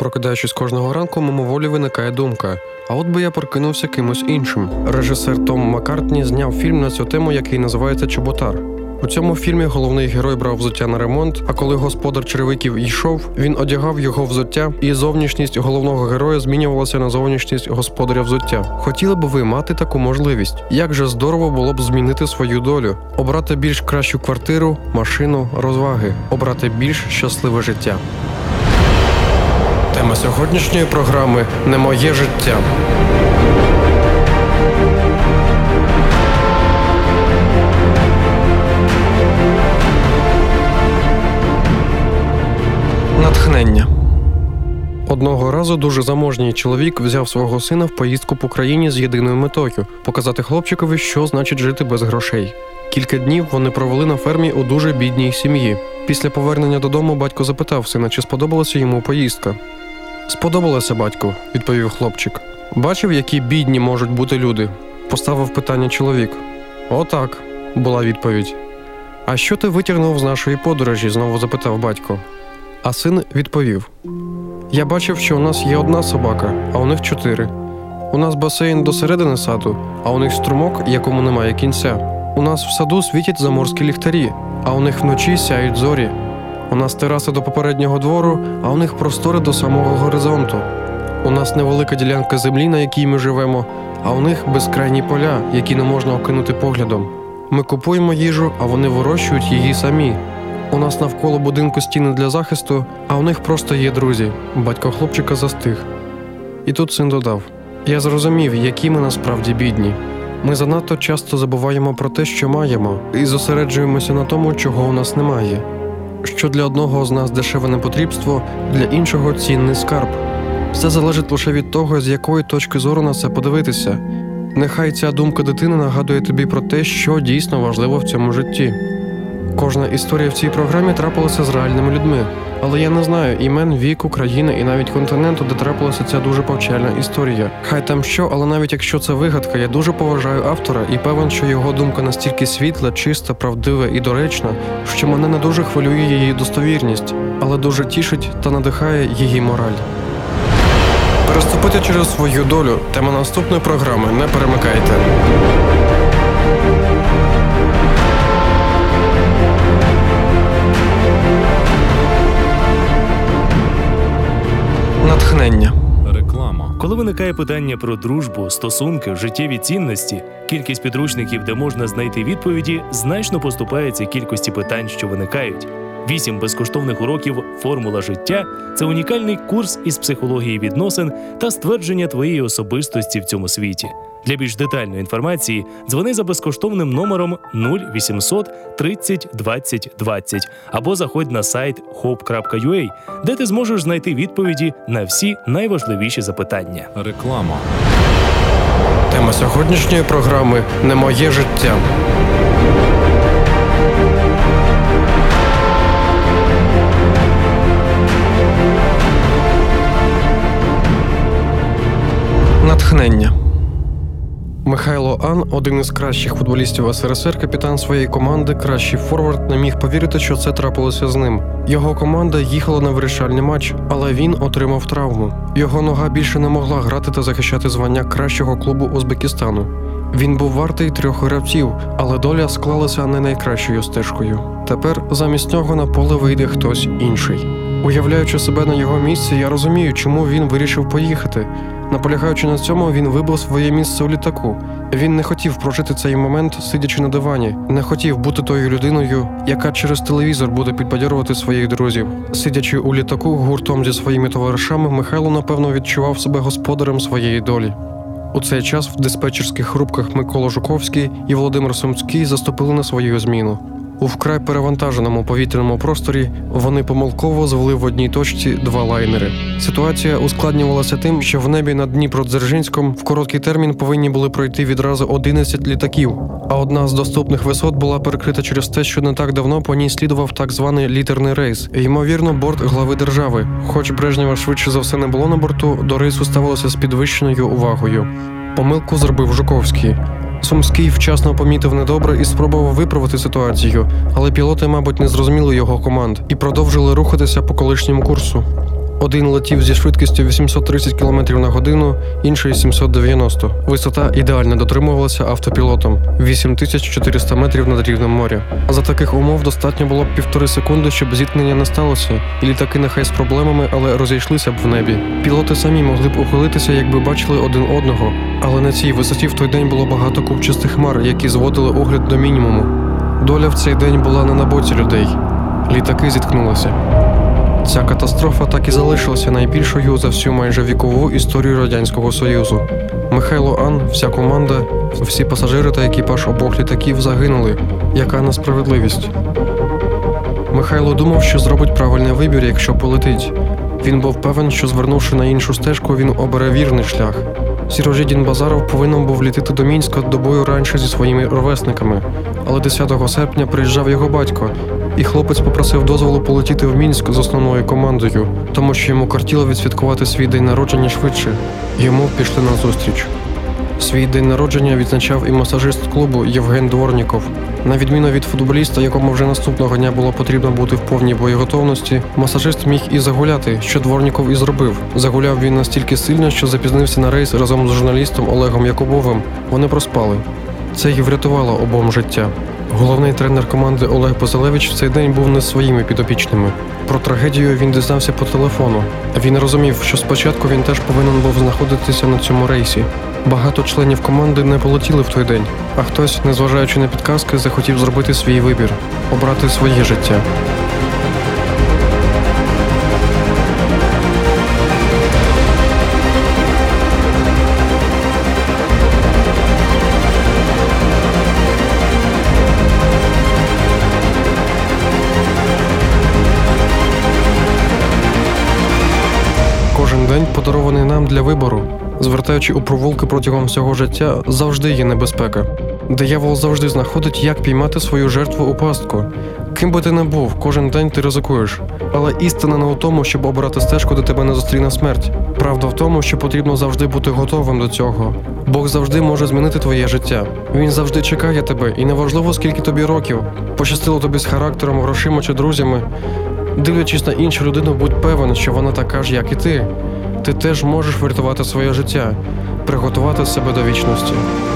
Прокидаючись кожного ранку, мимоволі виникає думка: а от би я прокинувся кимось іншим. Режисер Том Маккартні зняв фільм на цю тему, який називається «Чоботар». У цьому фільмі головний герой брав взуття на ремонт, а коли господар черевиків йшов, він одягав його взуття, і зовнішність головного героя змінювалася на зовнішність господаря взуття. Хотіли б ви мати таку можливість? Як же здорово було б змінити свою долю? Обрати більш кращу квартиру, машину, розваги. Обрати більш щасливе життя. Тема сьогоднішньої програми «Не моє життя». Натхнення. Одного разу дуже заможній чоловік взяв свого сина в поїздку по країні з єдиною метою – показати хлопчикові, що значить жити без грошей. Кілька днів вони провели на фермі у дуже бідній сім'ї. Після повернення додому батько запитав сина, чи сподобалася йому поїздка. «Сподобалося, батьку», – відповів хлопчик. «Бачив, які бідні можуть бути люди?» – поставив питання чоловік. «Отак», – була відповідь. «А що ти витягнув з нашої подорожі?» – знову запитав батько. А син відповів: «Я бачив, що у нас є одна собака, а у них 4. У нас басейн до середини саду, а у них струмок, якому немає кінця. У нас в саду світять заморські ліхтарі, а у них вночі сяють зорі. У нас тераса до попереднього двору, а у них простори до самого горизонту. У нас невелика ділянка землі, на якій ми живемо, а у них безкрайні поля, які не можна окинути поглядом. Ми купуємо їжу, а вони вирощують її самі. У нас навколо будинку стіни для захисту, а у них просто є друзі». Батько хлопчика застиг. І тут син додав: «Я зрозумів, які ми насправді бідні. Ми занадто часто забуваємо про те, що маємо, і зосереджуємося на тому, чого у нас немає. Що для одного з нас дешеве непотрібство, для іншого цінний скарб. Все залежить лише від того, з якої точки зору на це подивитися. Нехай ця думка дитини нагадує тобі про те, що дійсно важливо в цьому житті». Кожна історія в цій програмі трапилася з реальними людьми, але я не знаю імен, віку, країни і навіть континенту, де трапилася ця дуже повчальна історія. Хай там що, але навіть якщо це вигадка, я дуже поважаю автора і певен, що його думка настільки світла, чиста, правдива і доречна, що мене не дуже хвилює її достовірність, але дуже тішить та надихає її мораль. Переступити через свою долю – тема наступної програми, не перемикайте. Натхнення. Реклама. Коли виникає питання про дружбу, стосунки, життєві цінності, кількість підручників, де можна знайти відповіді, значно поступається кількості питань, що виникають. 8 безкоштовних уроків «Формула життя» – це унікальний курс із психології відносин та ствердження твоєї особистості в цьому світі. Для більш детальної інформації дзвони за безкоштовним номером 0800 30 20 20 або заходь на сайт hope.ua, де ти зможеш знайти відповіді на всі найважливіші запитання. Реклама. Тема сьогоднішньої програми «Не моє життя». Натхнення. Михайло Ан, один із кращих футболістів СРСР, капітан своєї команди, кращий форвард, не міг повірити, що це трапилося з ним. Його команда їхала на вирішальний матч, але він отримав травму. Його нога більше не могла грати та захищати звання кращого клубу Узбекистану. Він був вартий 3 гравців, але доля склалася не найкращою стежкою. Тепер замість нього на поле вийде хтось інший. Уявляючи себе на його місці, я розумію, чому він вирішив поїхати. Наполягаючи на цьому, він вибрав своє місце у літаку. Він не хотів прожити цей момент, сидячи на дивані. Не хотів бути тою людиною, яка через телевізор буде підбадьорувати своїх друзів. Сидячи у літаку гуртом зі своїми товаришами, Михайло, напевно, відчував себе господарем своєї долі. У цей час в диспетчерських рубках Микола Жуковський і Володимир Сумський заступили на свою зміну. У вкрай перевантаженому повітряному просторі вони помилково звели в одній точці 2 лайнери. Ситуація ускладнювалася тим, що в небі над Дніпродзержинськом в короткий термін повинні були пройти відразу 11 літаків, а одна з доступних висот була перекрита через те, що не так давно по ній слідував так званий літерний рейс. Ймовірно, борт глави держави. Хоч Брежнєва швидше за все не було на борту, до рейсу ставилося з підвищеною увагою. Помилку зробив Жуковський. Сумський вчасно помітив недобре і спробував виправити ситуацію, але пілоти, мабуть, не зрозуміли його команд і продовжили рухатися по колишньому курсу. Один летів зі швидкістю 830 км на годину, інший 790. Висота ідеально дотримувалася автопілотом – 8400 метрів над рівнем моря. За таких умов достатньо було б 1,5 секунди, щоб зіткнення не сталося, і літаки нехай з проблемами, але розійшлися б в небі. Пілоти самі могли б ухилитися, якби бачили один одного, але на цій висоті в той день було багато купчастих хмар, які зводили огляд до мінімуму. Доля в цей день була не на боці людей. Літаки зіткнулися. Ця катастрофа так і залишилася найбільшою за всю майже вікову історію Радянського Союзу. Михайло Ан, вся команда, всі пасажири та екіпаж обох літаків загинули. Яка несправедливість. Михайло думав, що зробить правильний вибір, якщо полетить. Він був певен, що звернувши на іншу стежку, він обере вірний шлях. Сірожидін Базаров повинен був літити до Мінська добою раніше зі своїми ровесниками. Але 10 серпня приїжджав його батько, і хлопець попросив дозволу полетіти в Мінськ з основною командою, тому що йому кортіло відсвяткувати свій день народження швидше. Йому пішли назустріч. Свій день народження відзначав і масажист клубу Євген Дворніков. На відміну від футболіста, якому вже наступного дня було потрібно бути в повній боєготовності, масажист міг і загуляти, що Дворніков і зробив. Загуляв він настільки сильно, що запізнився на рейс разом з журналістом Олегом Якубовим. Вони проспали. Це й врятувало обом життя. Головний тренер команди Олег Базилевич в цей день був не своїми підопічними. Про трагедію він дізнався по телефону. Він розумів, що спочатку він теж повинен був знаходитися на цьому рейсі. Багато членів команди не полетіли в той день, а хтось, незважаючи на підказки, захотів зробити свій вибір – обрати своє життя. Кожен день подарований нам для вибору. Звертаючи у провулки протягом всього життя, завжди є небезпека. Диявол завжди знаходить, як піймати свою жертву у пастку. Ким би ти не був, кожен день ти ризикуєш. Але істина не у тому, щоб обирати стежку, де тебе не зустріне смерть. Правда в тому, що потрібно завжди бути готовим до цього. Бог завжди може змінити твоє життя. Він завжди чекає тебе, і неважливо, скільки тобі років. Пощастило тобі з характером, грошима чи друзями. Дивлячись на іншу людину, будь певен, що вона така ж, як і ти. Ти теж можеш врятувати своє життя, приготувати себе до вічності.